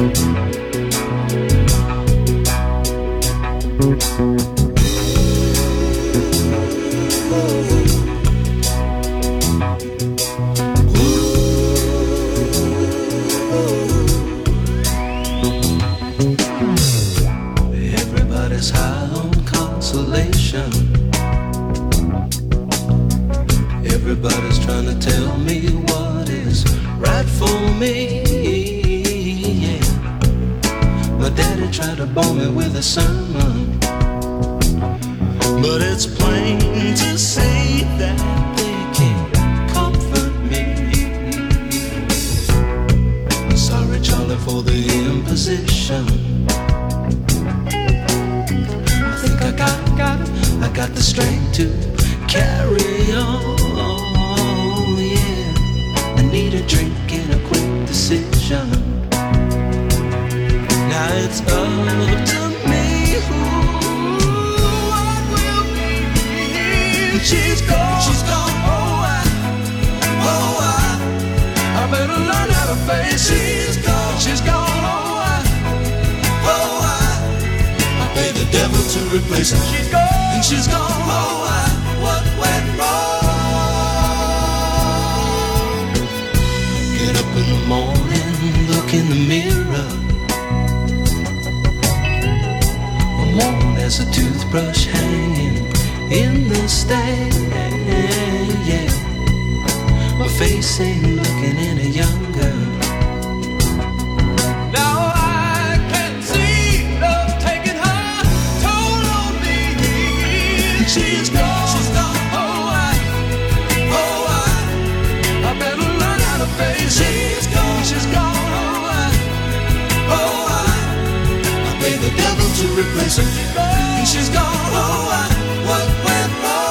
Everybody's high on consolation. Everybody's trying to tell me what is right for me. Yeah. My daddy tried to bore me with a sermon, but it's plain to see that they can't comfort me. Sorry, Charlie, for the imposition. I think I got the strength to carry on. Yeah, I need a drink and a quick decision. Now it's up to me. What will be? She's gone. I better learn how to face it. She's gone. I pay the devil to replace her. She's gone. And she's gone. What went wrong? Get up in the morning, look in the mirror. I'm worn as a toothbrush hanging in the stand. Yeah, my face ain't looking any younger. Now I can see love taking her toll on me. She's gone. I better learn how to face it. She's gone. I pay the devil to replace her. And she's gone. What went wrong?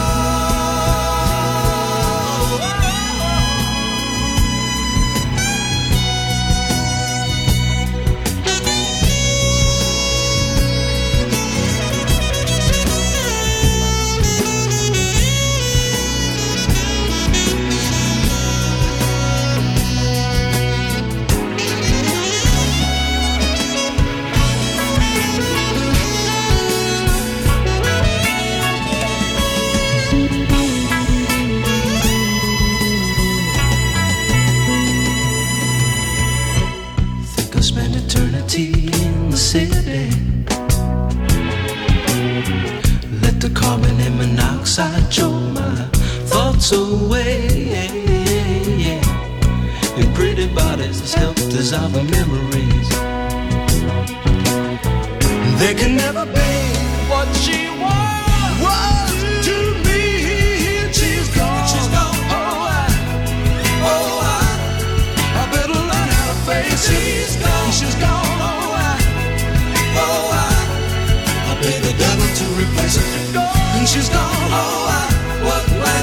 Spend eternity in the city. Let the carbon and monoxide choke my thoughts away. In pretty bodies as help dissolve the memories. They can never be what she was to me. She's gone. I better learn how to face it. She's gone. I pay the devil to replace her. And she's gone. What went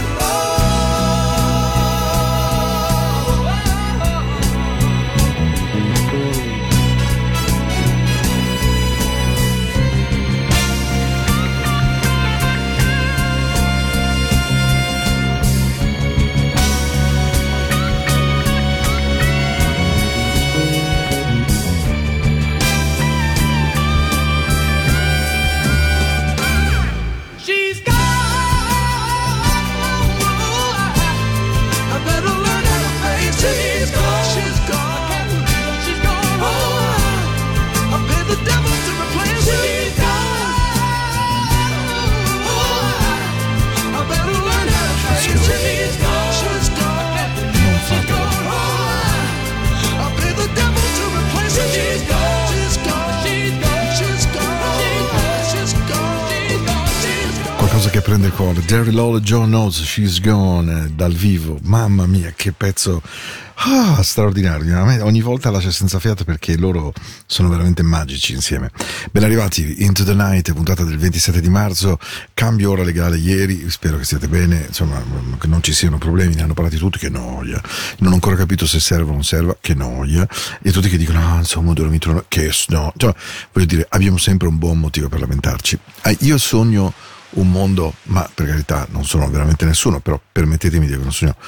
Che prende il cuore. Daryl Hall e John Oates, She's Gone, dal vivo. Mamma mia, che pezzo straordinario. Ogni volta lascia senza fiato perché loro sono veramente magici insieme. Ben arrivati, Into the Night, puntata del 27 di marzo. Cambio ora legale ieri, spero che stiate bene, insomma, che non ci siano problemi. Ne hanno parlati tutti, che noia. Non ho ancora capito se serve o non serva, che noia. E tutti che dicono, insomma, ho dormito, che no. Cioè, voglio dire, abbiamo sempre un buon motivo per lamentarci. Io sogno un mondo, ma per carità non sono veramente nessuno, però permettetemi di avere un sogno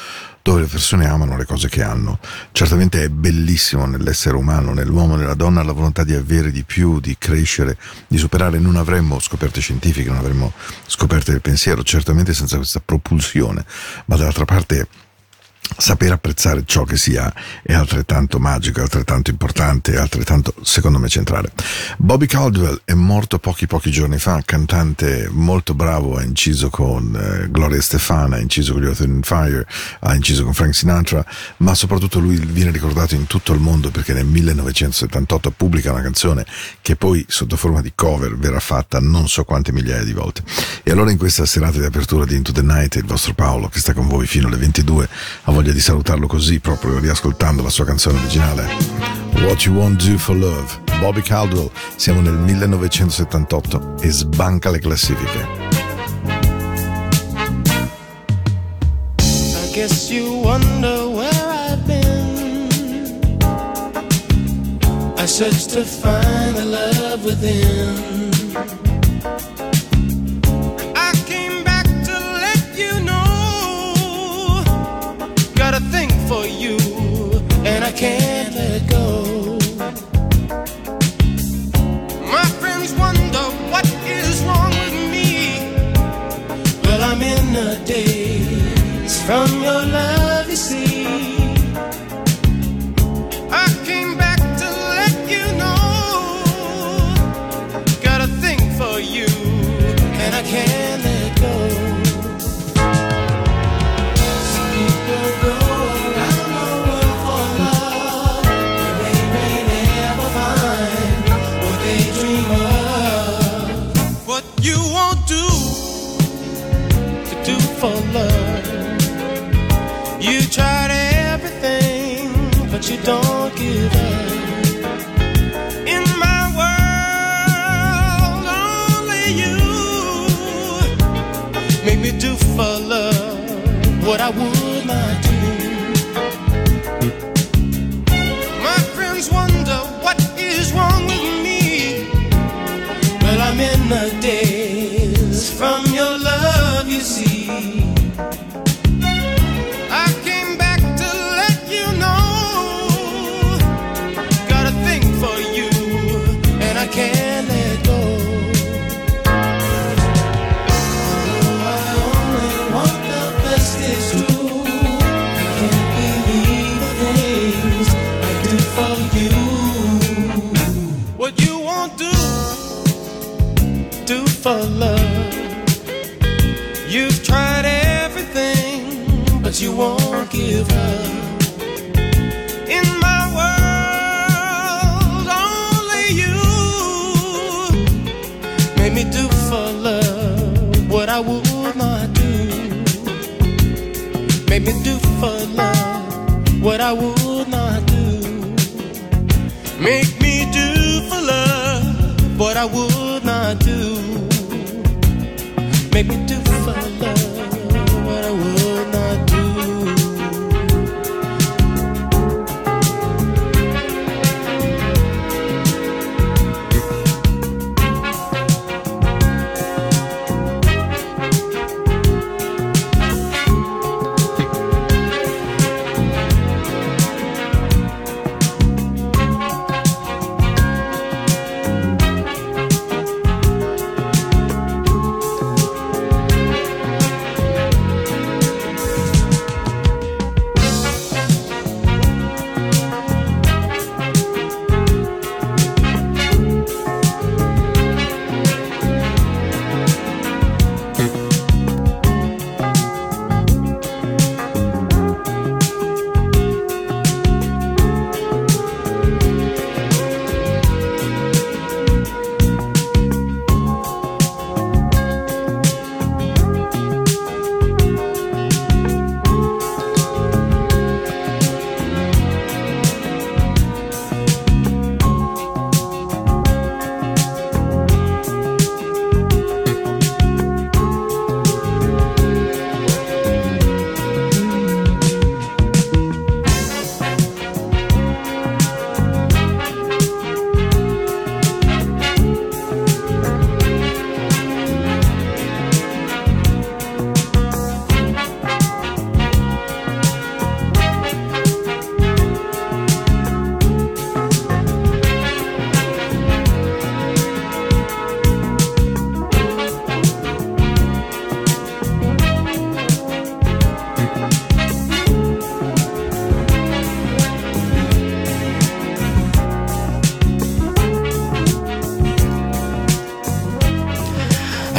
dove le persone amano le cose che hanno. Certamente è bellissimo nell'essere umano, nell'uomo e nella donna, la volontà di avere di più, di crescere, di superare. Non avremmo scoperte scientifiche, non avremmo scoperte del pensiero, certamente senza questa propulsione, ma dall'altra parte saper apprezzare ciò che si ha è altrettanto magico, è altrettanto importante, è altrettanto, secondo me, centrale. Bobby Caldwell è morto pochi giorni fa, cantante molto bravo, ha inciso con Gloria Estefan, ha inciso con gli Earth, Wind & Fire, ha inciso con Frank Sinatra, ma soprattutto lui viene ricordato in tutto il mondo perché nel 1978 pubblica una canzone che poi sotto forma di cover verrà fatta non so quante migliaia di volte. E allora in questa serata di apertura di Into the Night il vostro Paolo, che sta con voi fino alle 22, ha voglia di salutarlo così, proprio riascoltando la sua canzone originale, What You Won't Do for Love, Bobby Caldwell. Siamo nel 1978 e sbanca le classifiche. I guess you wonder where I've been. I searched to find the love within. A thing for you, and I can't let go. My friends wonder what is wrong with me. Well, I'm in a daze from your love, you see. I came back to let you know. Got a thing for you, and I can't let go. For love, you tried everything, but you don't give up. In my world, only you make me do for love what I would not do. My friends wonder what is wrong with me. Well, I'm in a daze from your love, you see. I came back to let you know. Got a thing for you, and I can't let go. Oh, I only want the best, it's true. I can't believe the things I do for you. What you won't do for love. You've tried everything, but you won't give up. In my world, only you made me do for love what I would not do. Made me do for love what I would not do. Make me do for love what I would not do. Make me do for love what I would not do.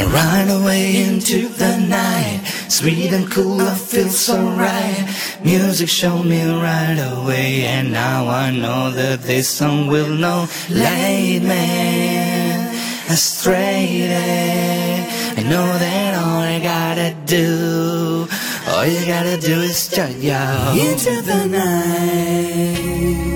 Run away into the night, sweet and cool, I feel so right. Music showed me right away, and now I know that this song will not lead me astray. I know that all I gotta do, all you gotta do is start out into the night.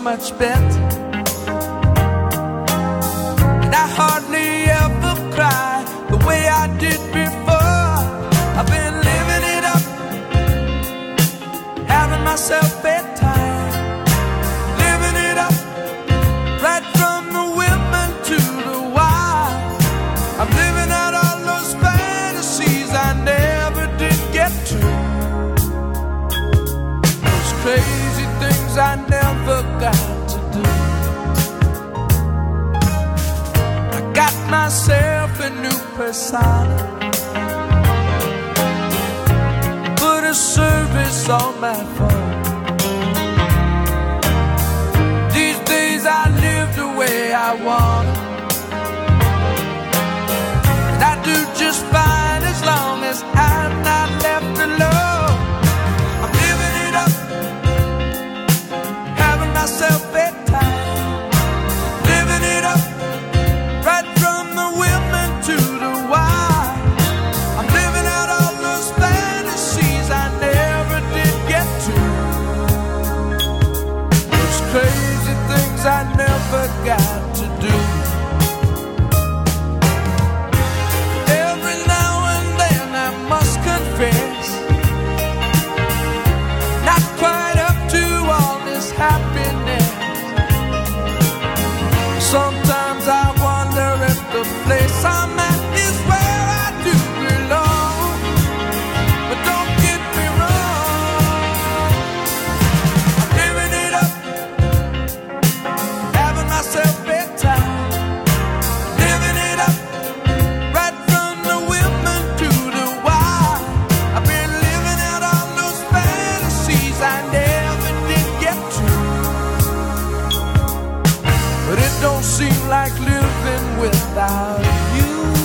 much better. And I hardly ever cry the way I did before. I've been living it up, having myself bedtime, living it up, right from the women to the wild. I'm living out all those fantasies I never did get to, those crazy things I never got to do. I got myself a new persona, put a service on my phone. These days I live the way I want, and I do just fine as long as I'm not left alone. I'm living it up, having myself bedtime, living it up, right from the women to the wild. I'm living out all those fantasies I never did get to, those crazy things I never got to do. Every now and then I must confess, not quite up to all this happiness. Sometimes I wonder if the place I'm at is where I do belong. But don't get me wrong, I'm living it up, having myself bedtime, living it up, right from the women to the wild. I've been living out all those fantasies I never did get to, but it don't seem like living without you.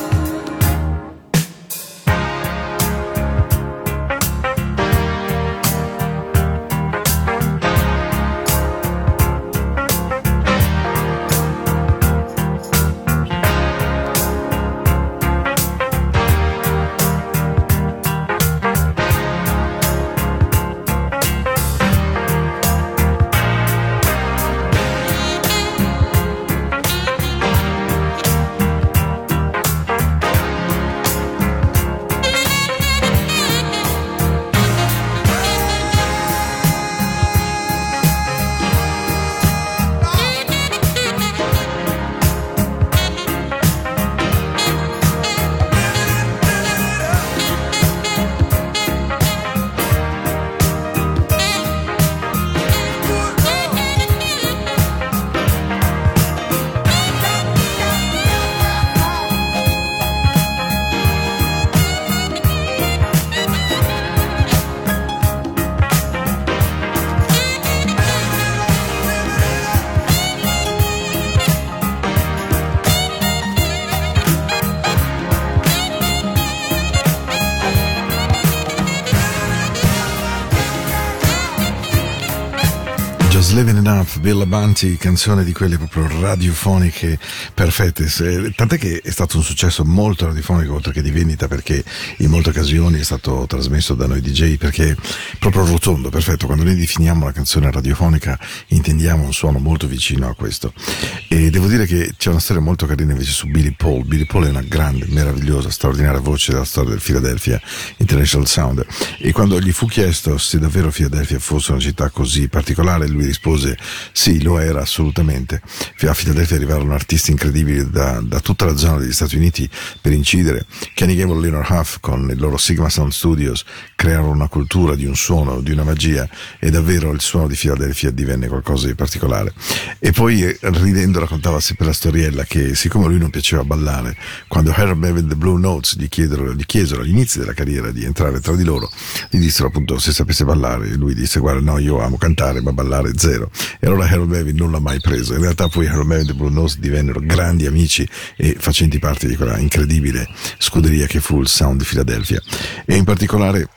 Living It Up, Bill Avanti, canzone di quelle proprio radiofoniche perfette, tant'è che è stato un successo molto radiofonico oltre che di vendita, perché in molte occasioni è stato trasmesso da noi DJ, perché è proprio rotondo, perfetto. Quando noi definiamo una canzone radiofonica intendiamo un suono molto vicino a questo. E devo dire che c'è una storia molto carina invece su Billy Paul. Billy Paul è una grande, meravigliosa, straordinaria voce della storia del Philadelphia International Sound, e quando gli fu chiesto se davvero Philadelphia fosse una città così particolare, lui rispose sì, lo era assolutamente. A Philadelphia arrivarono artisti incredibili da tutta la zona degli Stati Uniti per incidere. Kenny Gamble e Leonard Huff con il loro Sigma Sound Studios crearono una cultura di un suono, di una magia, e davvero il suono di Philadelphia divenne qualcosa di particolare. E poi ridendo raccontava sempre la storiella che siccome a lui non piaceva ballare, quando Harold Melvin e The Blue Notes gli chiesero all'inizio della carriera di entrare tra di loro, gli dissero appunto se sapesse ballare, e lui disse guarda no, io amo cantare ma ballare zero. E allora Harold Melvin non l'ha mai preso. In realtà poi Harold Melvin e The Blue Notes divennero grandi amici e facenti parte di quella incredibile scuderia che fu il Sound di Philadelphia. E in particolare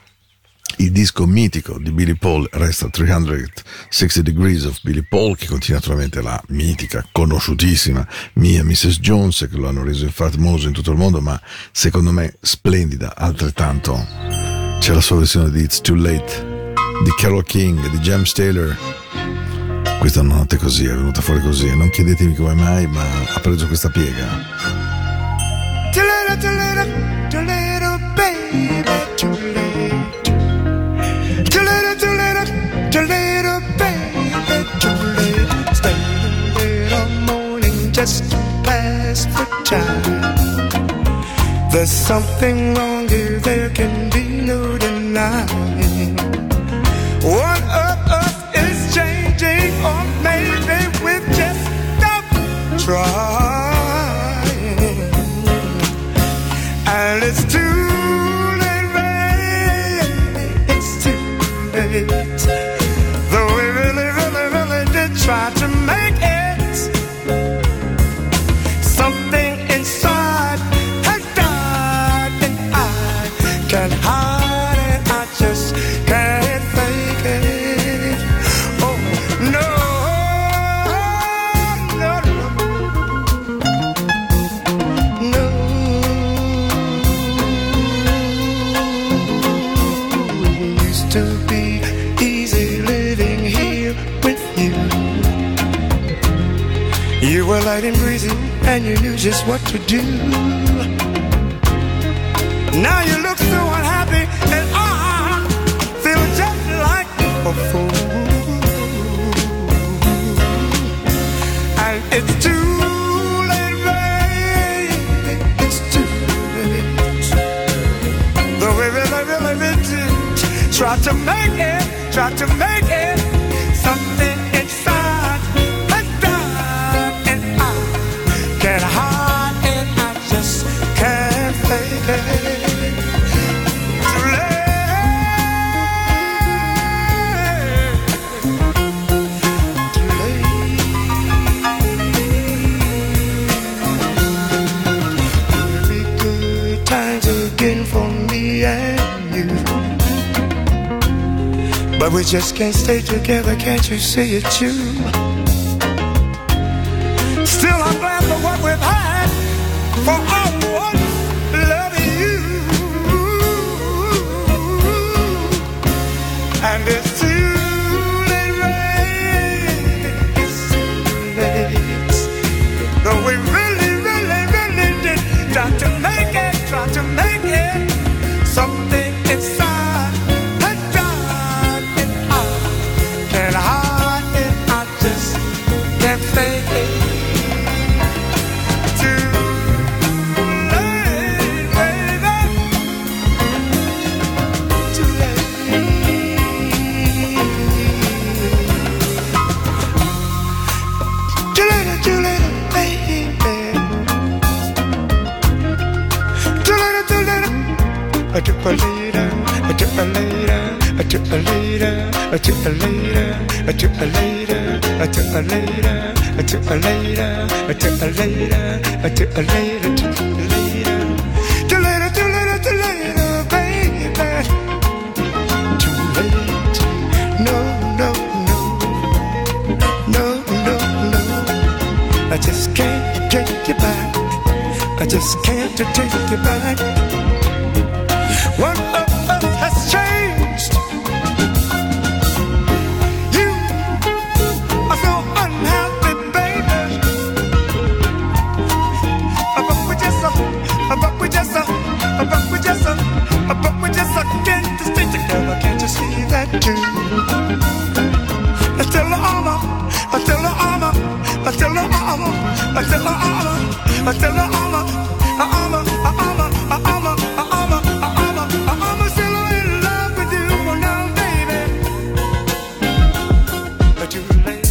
il disco mitico di Billy Paul resta 360 Degrees of Billy Paul, che contiene naturalmente la mitica, conosciutissima Mia Mrs. Jones, che lo hanno reso infatti famoso in tutto il mondo, ma secondo me splendida altrettanto. C'è la sua versione di It's Too Late di Carole King, di James Taylor, Questa notte così è venuta fuori così, non chiedetemi come mai, ma ha preso questa piega. Too little, baby, too late. Too little, baby, too late. Stay till morning just past the time. There's something wrong here, there can be no denying. One of us is changing, or maybe we've just stopped trying. And it's too late, baby, it's too late. Though we really, really, really did try to make it, something inside has died, and I can't hide it, I just can't fake it. Oh, no, no, no, no. It used to be easy living here with you. You were light and breezy, and you knew just what to do. Now you look so unhappy, and I feel just like a fool. And it's too late, baby, it's too late. Though we really, really, really did try to make it, something inside has died, and I can't hide it, I just can't fake it. Too late, too late. It'll be good times again for me and you, but we just can't stay together, can't you see it too? Still I'm glad for what we've had, for I once loving you. And it's too late, baby, it's too late. Though we really, really, really did try to make it, something inside has died, and I can't hide it, I just can't fake it. Too late, baby, too late. Too late, baby. Too late. I took a later, I took a later, I took a later, I took a later, I took a later, I took a later, I took a later, I took a later, I took a later, took a later. Too later, baby. Too late. No. I just can't take you back. I just can't take you back. One of us has changed. You are so unhappy, baby. But we just can't stay together. Can't you see that too? Until the armor. Still in love with you now, baby. But too late.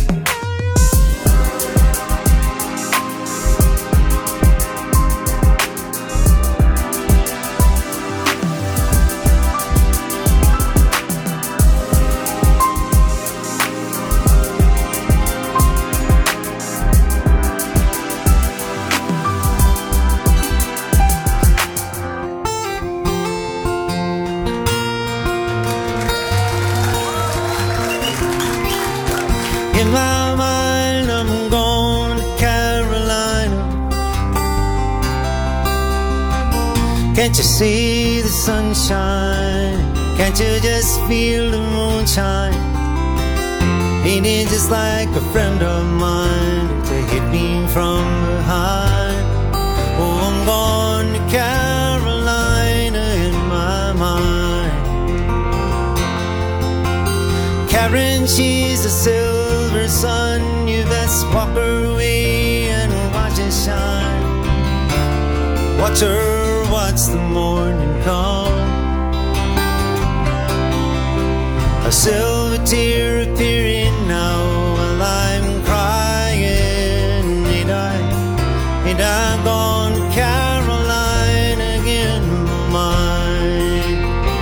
In my mind, I'm going to Carolina. Can't you see the sunshine? Can't you just feel the moonshine? Ain't it just like a friend of mine to hit me from behind? Oh, I'm going to Carolina in my mind. Karen, she's a silver sun. You best walk her away and watch it shine. Watch her, watch the morning come. A silver tear appearing now while I'm crying. Ain't I gone to Carolina again, mine?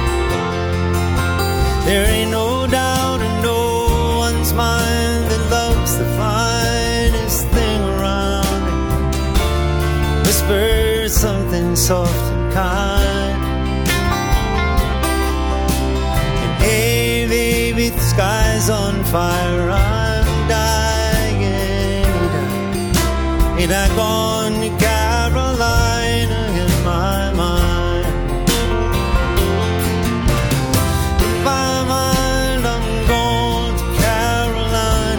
There ain't no doubt in no one's mind that love's the finest thing around. Whisper something soft and kind. And hey, baby, the sky's on fire. I'm dying. Ain't I gone to Carolina in my mind? In my mind, I'm going to Carolina.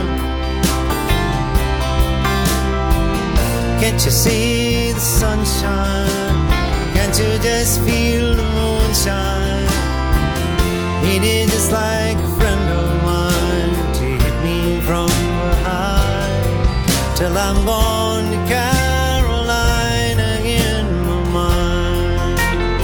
Can't you see the sunshine? Can't you just feel the moonshine? Ain't it just like a friend of mine to hit me from behind? Till I'm gone to Carolina in my mind.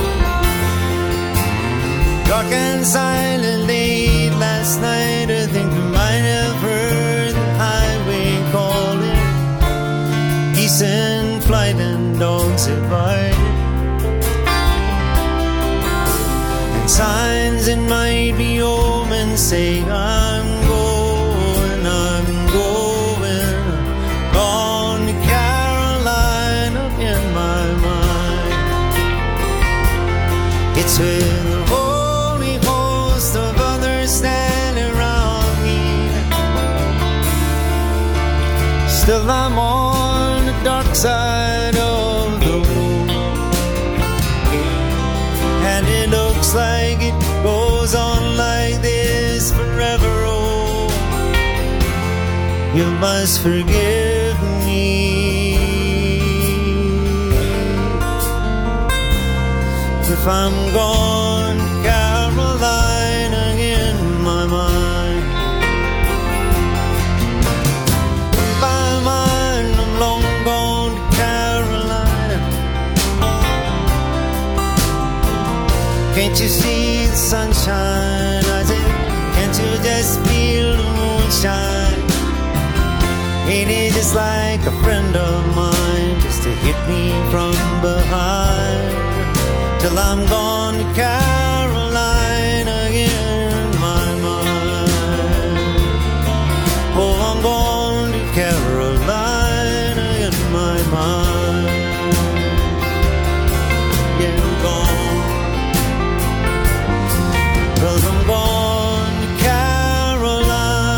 Dark and silent late last night, I think I might have heard the highway calling. Geese in flight and dogs at bite. And signs that might be omens saying I'm going, gone to Carolina in my mind. It's with a holy host of others standing around me. Still I'm on the dark side of the moon, and it looks like it goes on like this forever. Oh, you must forgive me if I'm gone to Carolina in my mind. In my mind, I'm long gone to Carolina. Can't you see the sunshine? I said, can't you just feel the moonshine? Ain't it just like a friend of mine just to hit me from behind? Till I'm gone to Carolina in my mind. Oh, I'm gone to Carolina in my mind. Yeah, I'm gone. 'Cause I'm gone to Carolina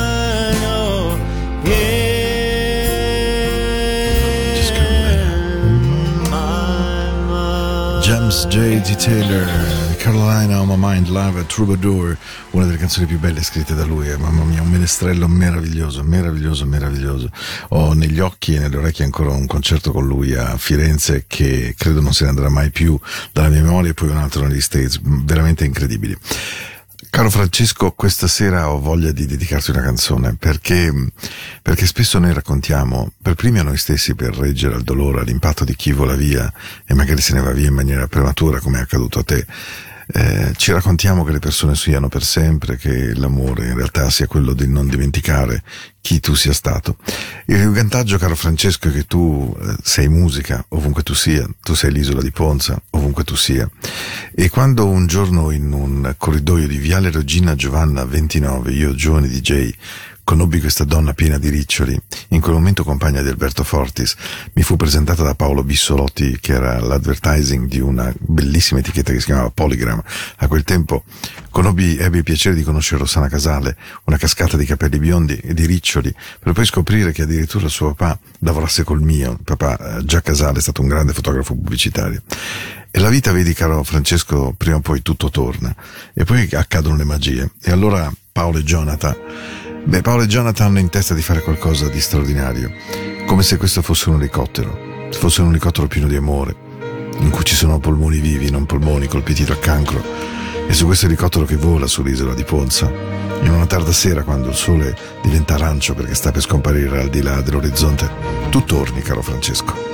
in my mind. James J.D. Taylor, Carolina on My Mind, Live at Troubadour, una delle canzoni più belle scritte da lui. Mamma mia, un menestrello meraviglioso, meraviglioso, meraviglioso. Ho negli occhi e nelle orecchie ancora un concerto con lui a Firenze che credo non se ne andrà mai più dalla mia memoria, e poi un altro negli States, veramente incredibili. Caro Francesco, questa sera ho voglia di dedicarti una canzone perché spesso noi raccontiamo, per primi a noi stessi, per reggere al dolore, all'impatto di chi vola via e magari se ne va via in maniera prematura, come è accaduto a te. Ci raccontiamo che le persone siano per sempre, che l'amore in realtà sia quello di non dimenticare chi tu sia stato. Il vantaggio, caro Francesco, è che tu sei musica ovunque tu sia, tu sei l'isola di Ponza ovunque tu sia, e quando un giorno in un corridoio di Viale Regina Giovanna 29, io giovane DJ, conobbi questa donna piena di riccioli, in quel momento compagna di Alberto Fortis, mi fu presentata da Paolo Bissolotti, che era l'advertising di una bellissima etichetta che si chiamava Polygram. A quel tempo ebbi il piacere di conoscere Rossana Casale, una cascata di capelli biondi e di riccioli, per poi scoprire che addirittura suo papà lavorasse col mio. Papà, Già Casale, è stato un grande fotografo pubblicitario. E la vita, vedi caro Francesco, prima o poi tutto torna, e poi accadono le magie. E allora Paolo e Jonathan Beh, Paolo e Jonathan hanno in testa di fare qualcosa di straordinario, come se questo fosse un elicottero, se fosse un elicottero pieno di amore, in cui ci sono polmoni vivi, non polmoni colpiti da cancro, e su questo elicottero che vola sull'isola di Ponza, in una tarda sera quando il sole diventa arancio perché sta per scomparire al di là dell'orizzonte, tu torni, caro Francesco.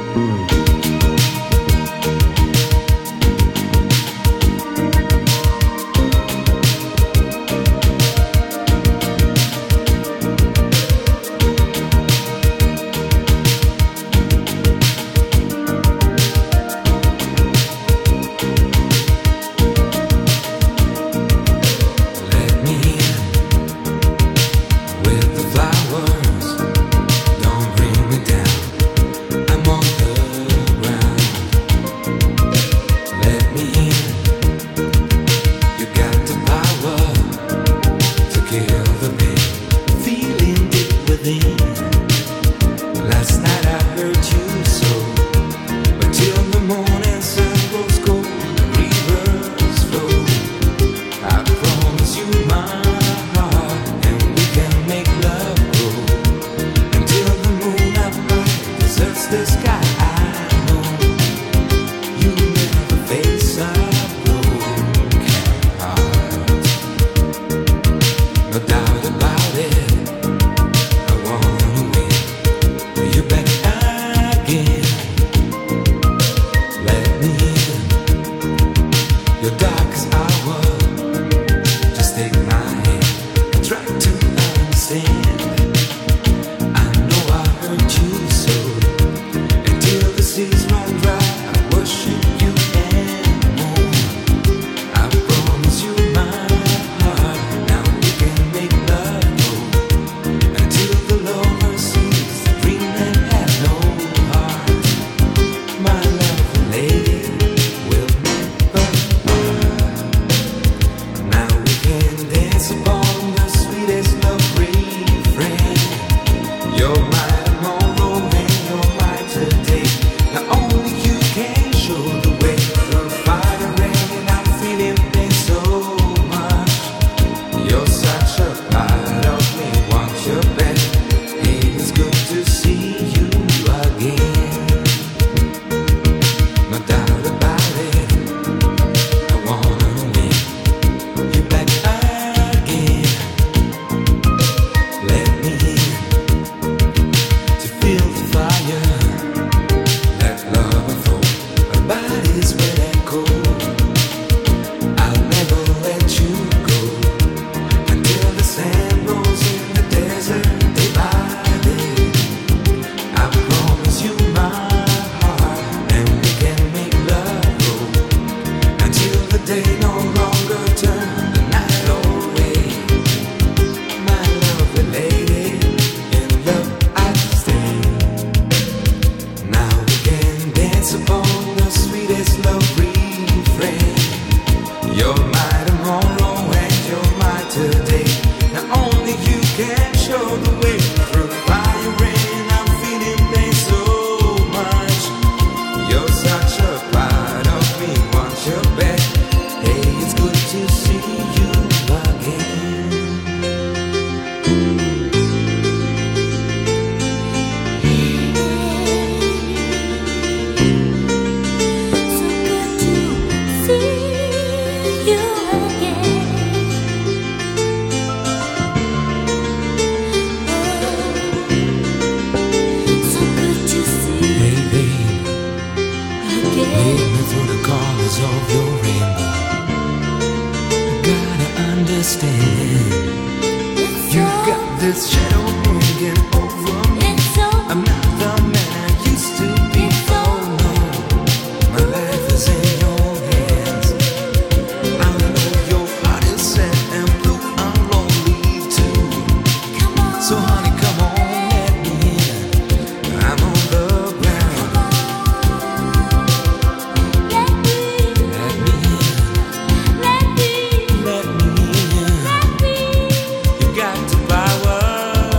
Got to power.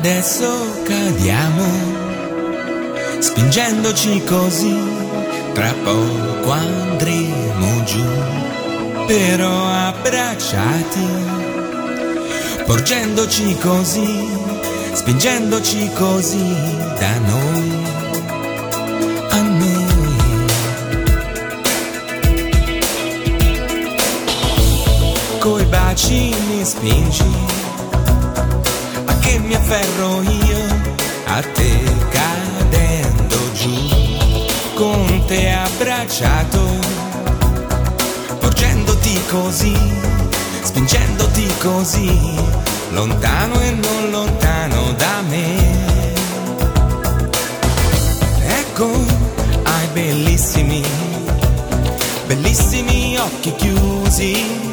adesso cadiamo, spingendoci così, tra poco andremo giù, però abbracciati, porgendoci così, spingendoci così da noi a noi. Coi baci mi spingi, a che mi afferro io a te cadendo giù, con te abbracciato, porgendoti così, spingendoti così, lontano e non lontano da me. Ecco, hai bellissimi, bellissimi occhi chiusi.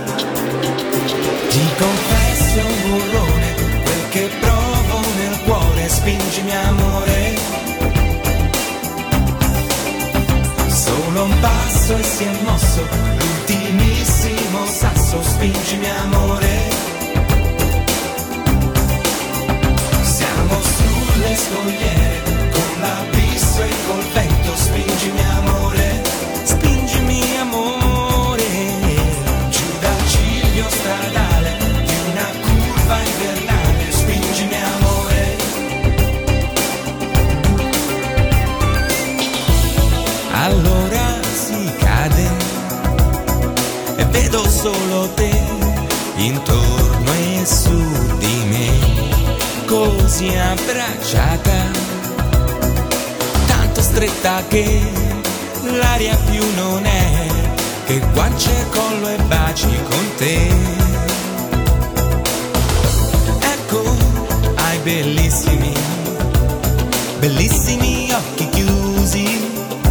Ti confesso un burrone, quel che provo nel cuore, spingimi amore. Solo un passo e si è mosso l'ultimissimo sasso, spingimi amore. Siamo sulle scogliere, con l'abisso e col vento, spingimi amore. Spingimi amore, giù dal ciglio stradale di una curva invernale, spingimi amore. Allora si cade e vedo solo te intorno e su di me, così abbracciata, tanto stretta che l'aria più non è che guance, collo e baci con te. Ecco, hai bellissimi, bellissimi occhi chiusi.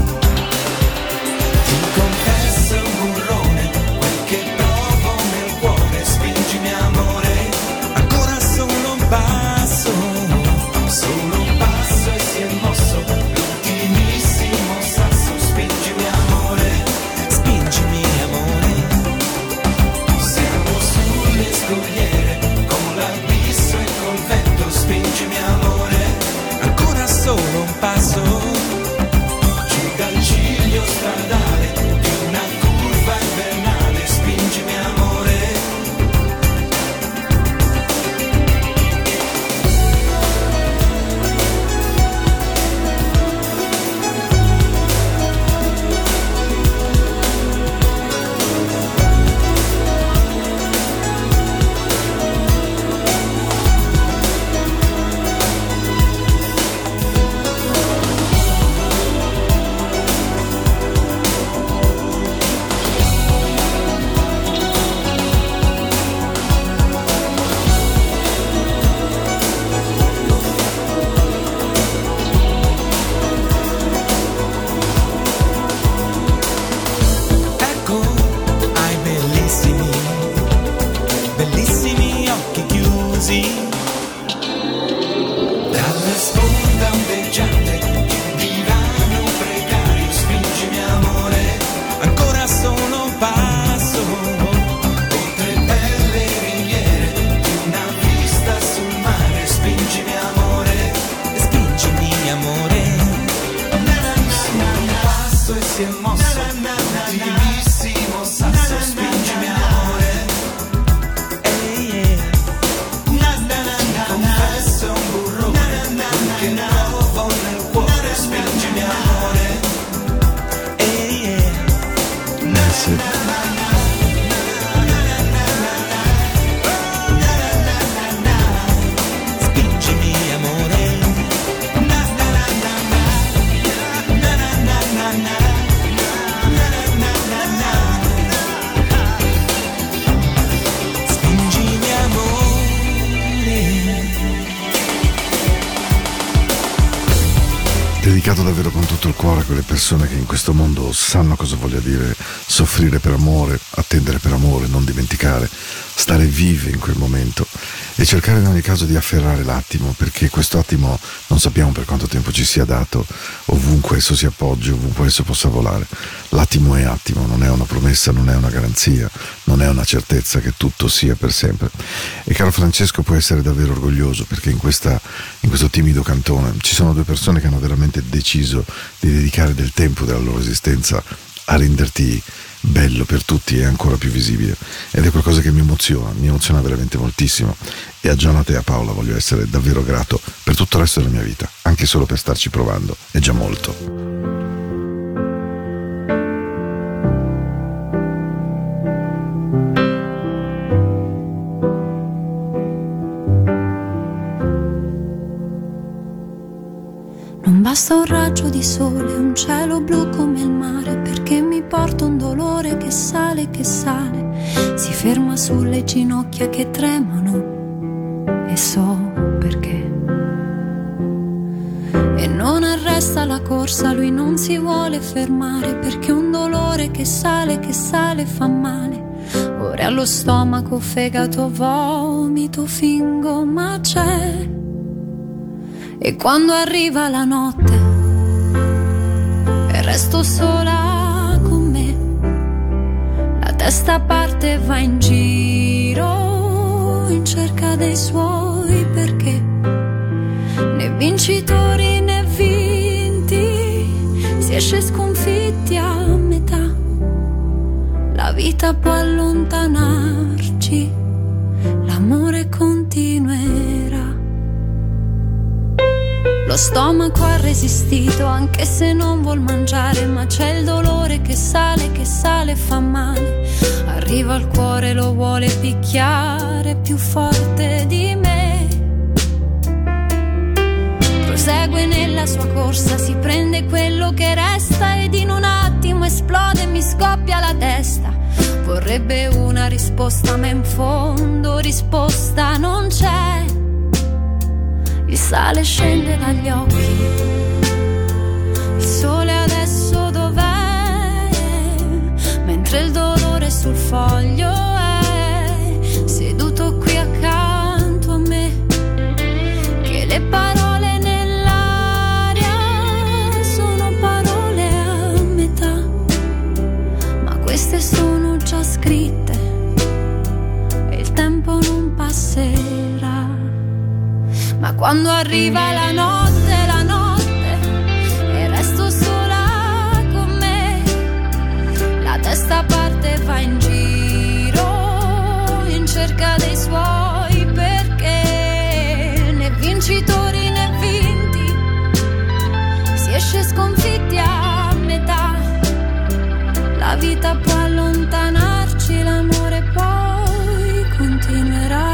Ti confesso un burrone, quel che provo nel cuore, spingimi amore. Ancora solo un passo e si è mosso l'ultimissimo sasso, spingimi amore, spingimi amore. Siamo sulle scogliere, con l'abisso e col vento, spingimi amore. Ancora solo un passo, giù dal ciglio stradale di una curva invernale, spingimi amore. Ecco, hai bellissimi, bellissimi occhi chiusi. Dalla sponda ondeggiante di un divano precario, spingimi amore. Ancora solo un passo, oltre belle ringhiere di una vista sul mare, spingimi amore. E spingimi amore. Un passo e si è mosso l'ultimissimo sasso, spingimi amore. Confesso un burrone, che provo nel cuore, spingimi amore. Sì. Spingimi amore. Spingimi amore. Dedicato davvero con tutto il cuore a quelle persone che in questo mondo sanno cosa voglia dire soffrire per amore, attendere per amore, non dimenticare, stare vive in quel momento e cercare in ogni caso di afferrare l'attimo, perché questo attimo non sappiamo per quanto tempo ci sia dato, ovunque esso si appoggi, ovunque esso possa volare. L'attimo è attimo, non è una promessa, non è una garanzia, non è una certezza che tutto sia per sempre. E caro Francesco, puoi essere davvero orgoglioso, perché in questo timido cantone ci sono due persone che hanno veramente deciso di dedicare del tempo della loro esistenza a renderti bello per tutti e ancora più visibile, ed è qualcosa che mi emoziona veramente moltissimo, e a Jonathan e a Paola voglio essere davvero grato per tutto il resto della mia vita, anche solo per starci provando, è già molto. Non basta un raggio di sole, un cielo blu come il mare, perché mi porta un dolore che sale, si ferma sulle ginocchia che tremano, e so perché. E non arresta la corsa, lui non si vuole fermare, perché un dolore che sale fa male. Ora allo stomaco, fegato, vomito, fingo, ma c'è. E quando arriva la notte e resto sola con me, la testa parte e va in giro in cerca dei suoi perché. Né vincitori né vinti, si esce sconfitti a metà. La vita può allontanarci, l'amore continuerà. Lo stomaco ha resistito anche se non vuol mangiare, ma c'è il dolore che sale, fa male. Arriva al cuore, lo vuole picchiare più forte di me. Prosegue nella sua corsa, si prende quello che resta ed in un attimo esplode e mi scoppia la testa. Vorrebbe una risposta ma in fondo risposta non c'è. Il sale scende dagli occhi, il sole adesso dov'è? Mentre il dolore sul foglio è seduto qui accanto a me. Che le parole nell'aria sono parole a metà, ma queste sono già scritte e il tempo non passerà. Ma quando arriva la notte e resto sola con me, la testa parte e va in giro in cerca dei suoi perché. Né vincitori né vinti, si esce sconfitti a metà. La vita può allontanarci, l'amore poi continuerà.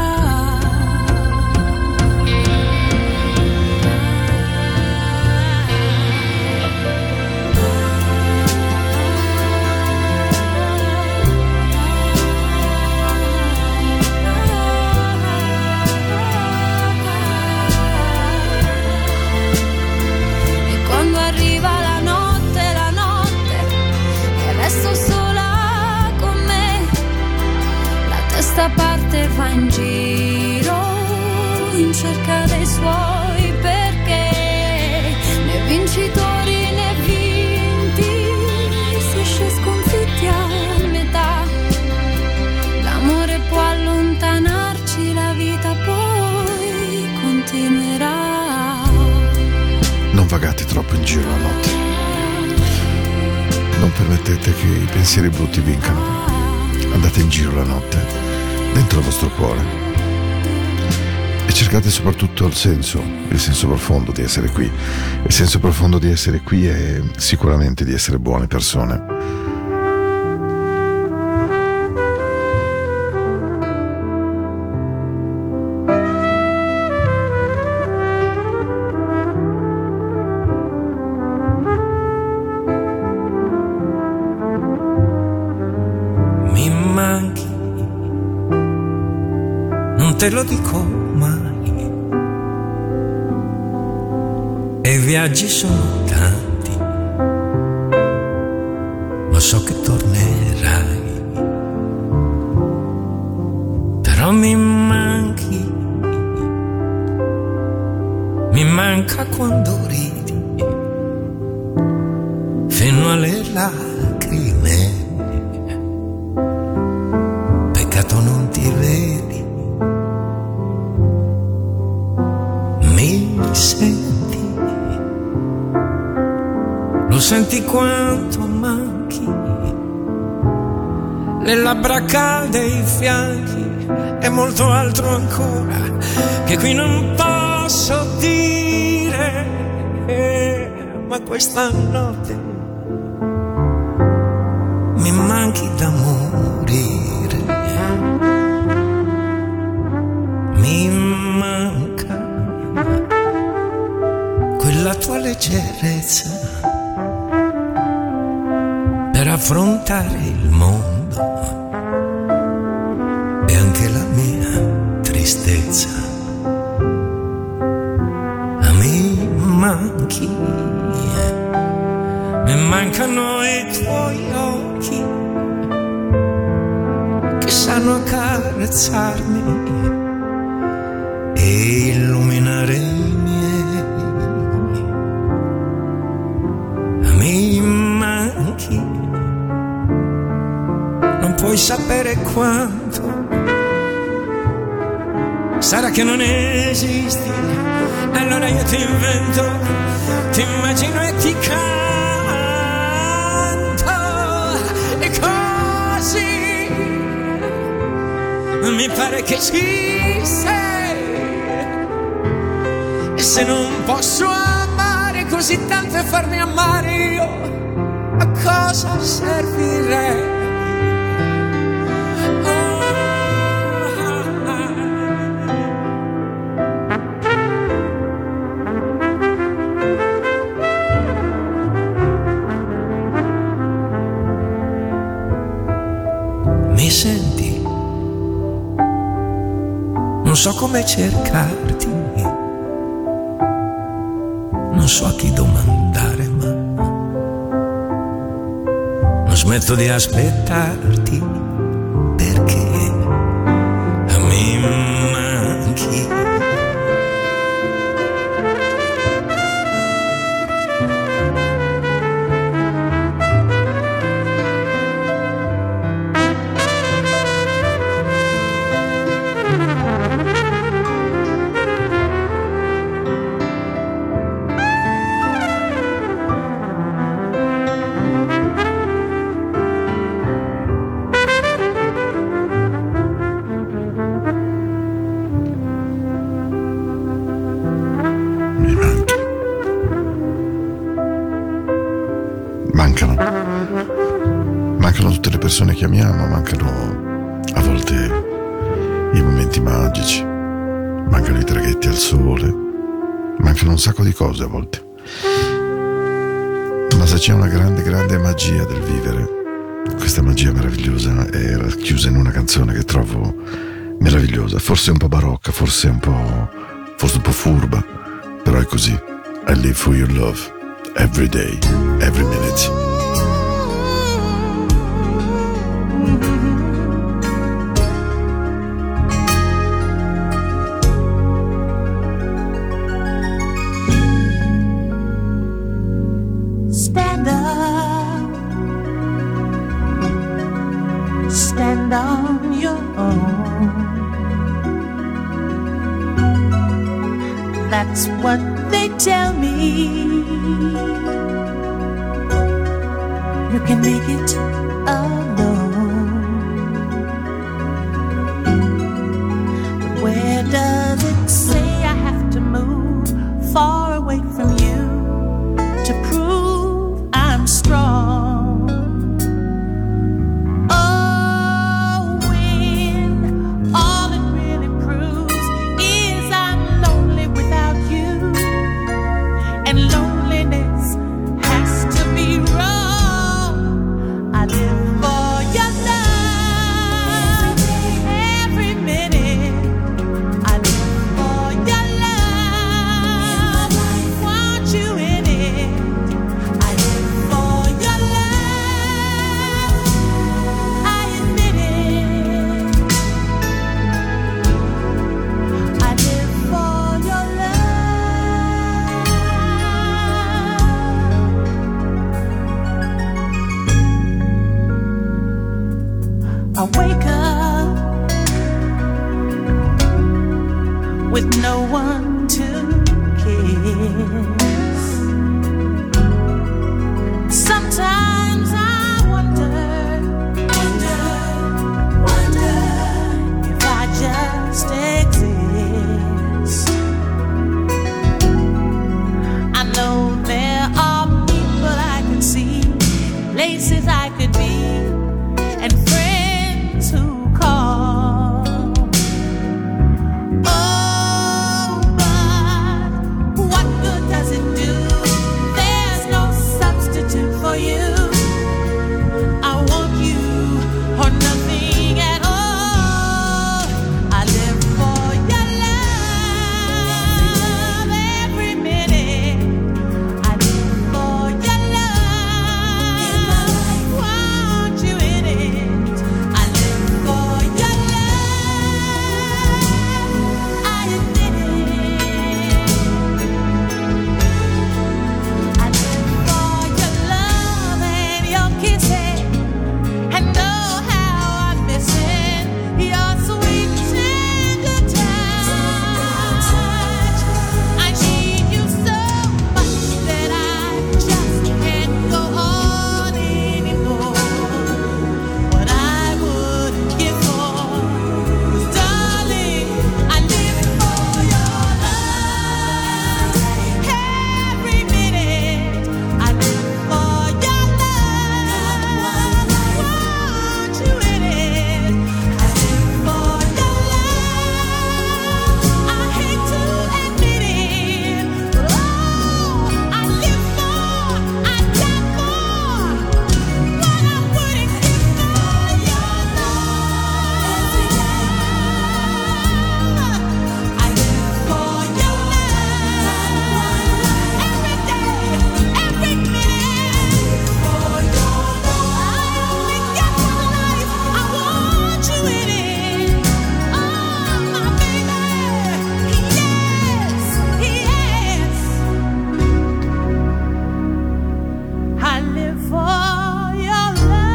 Questa parte va in giro in cerca dei suoi perché. Né vincitori né vinti, si esce sconfitti a metà. L'amore può allontanarci, la vita poi continuerà. Non vagate troppo in giro la notte, non permettete che i pensieri brutti vincano. Andate in giro la notte dentro il vostro cuore e cercate soprattutto il senso profondo di essere qui. Il senso profondo di essere qui è sicuramente di essere buone persone. Te lo dico mai, e i viaggi sono tanti, ma so che tornerai. però mi manchi, mi manca quando ridi fino alle lacrime. Peccato non ti vedi, mi senti, lo senti quanto manchi, le labbra calde, i fianchi e molto altro ancora che qui non posso dire, ma questa notte mi manchi da morire, mi manca quella tua leggerezza per affrontare il mondo e anche la mia tristezza. Mi manchi, mi mancano i tuoi occhi che sanno accarezzarmi e illuminare i miei. Mi manchi, non puoi sapere quanto. Sarà che non esisti, allora io ti invento, ti immagino e ti canto, e così mi pare che ci sei. E se non posso amare così tanto e farmi amare io, a cosa servirei? Mi senti? Non so come cercarti, non so a chi domandare, ma non smetto di aspettarti perché mi manchi. Mancano tutte le persone che amiamo, mancano a volte i momenti magici, mancano i traghetti al sole, mancano un sacco di cose a volte. Ma se c'è una grande, grande magia del vivere, questa magia meravigliosa è racchiusa in una canzone che trovo meravigliosa, forse un po' barocca, forse un po' furba, però è così. I live for your love, every day, every minute. Stand up, stand on your own. That's what they tell me. You can make it alone. But where does it say I have to move far away from you to prove I'm strong? Oh, when all it really proves is I'm lonely without you, and loneliness has to be wrong. I live for I wake up with no one to kiss. Sometimes I wonder if I just exist. I know there are people I can see, places I could be, and friends who call. Oh, but what good does it do? There's no substitute for you. I want you or nothing at all. I live for your love every minute. I live for your love. Want you in it. I live for your love. I admit it. I live for your love and your kisses, and know how I miss it. Your sweet tender touch. I need you so much that I just can't go on anymore. What I wouldn't give for, 'cause darling, I live for your love every minute. I live for your love. Want you in it. I live for your love. I hate to admit it, but oh, I live for, I die for what I wouldn't give for your love. I live for your love every day, every minute. For your love, I only get one life. I want you in it. Oh, my baby, yes, yes. I live for your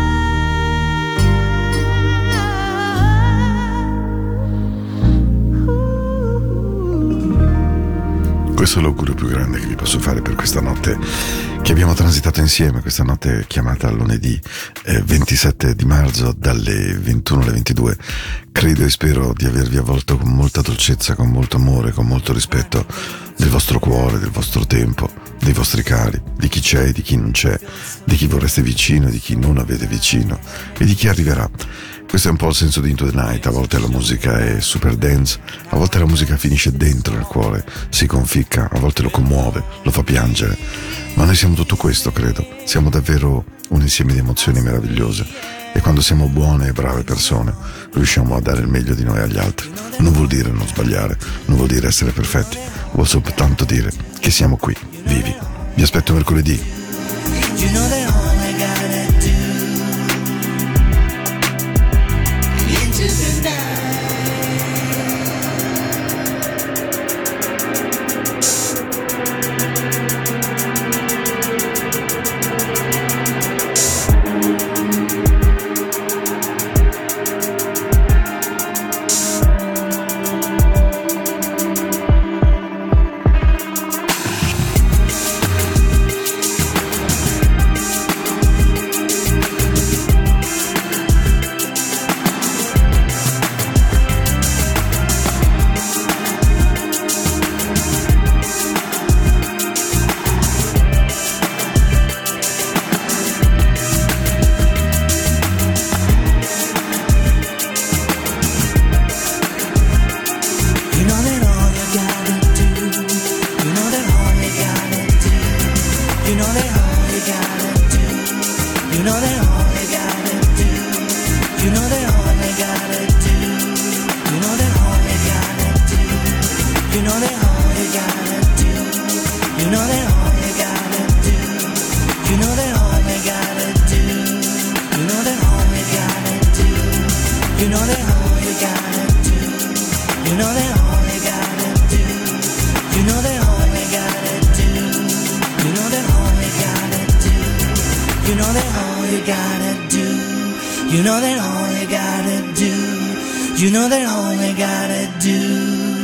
love. Questo è l'augurio più grande che vi posso fare per questa notte che abbiamo transitato insieme, questa notte chiamata lunedì 27 di marzo dalle 21 alle 22. Credo e spero di avervi avvolto con molta dolcezza, con molto amore, con molto rispetto del vostro cuore, del vostro tempo, dei vostri cari, di chi c'è e di chi non c'è, di chi vorreste vicino e di chi non avete vicino e di chi arriverà. Questo è un po' il senso di Into the Night. A volte la musica è super dance, a volte la musica finisce dentro nel cuore, si conficca, a volte lo commuove, lo fa piangere, ma noi siamo tutto questo, credo. Siamo davvero un insieme di emozioni meravigliose e quando siamo buone e brave persone riusciamo a dare il meglio di noi agli altri. Non vuol dire non sbagliare, non vuol dire essere perfetti, vuol soltanto dire che siamo qui, vivi. Vi aspetto mercoledì. You know that all I gotta do into the night. You know that all you gotta do. You know that all they gotta do.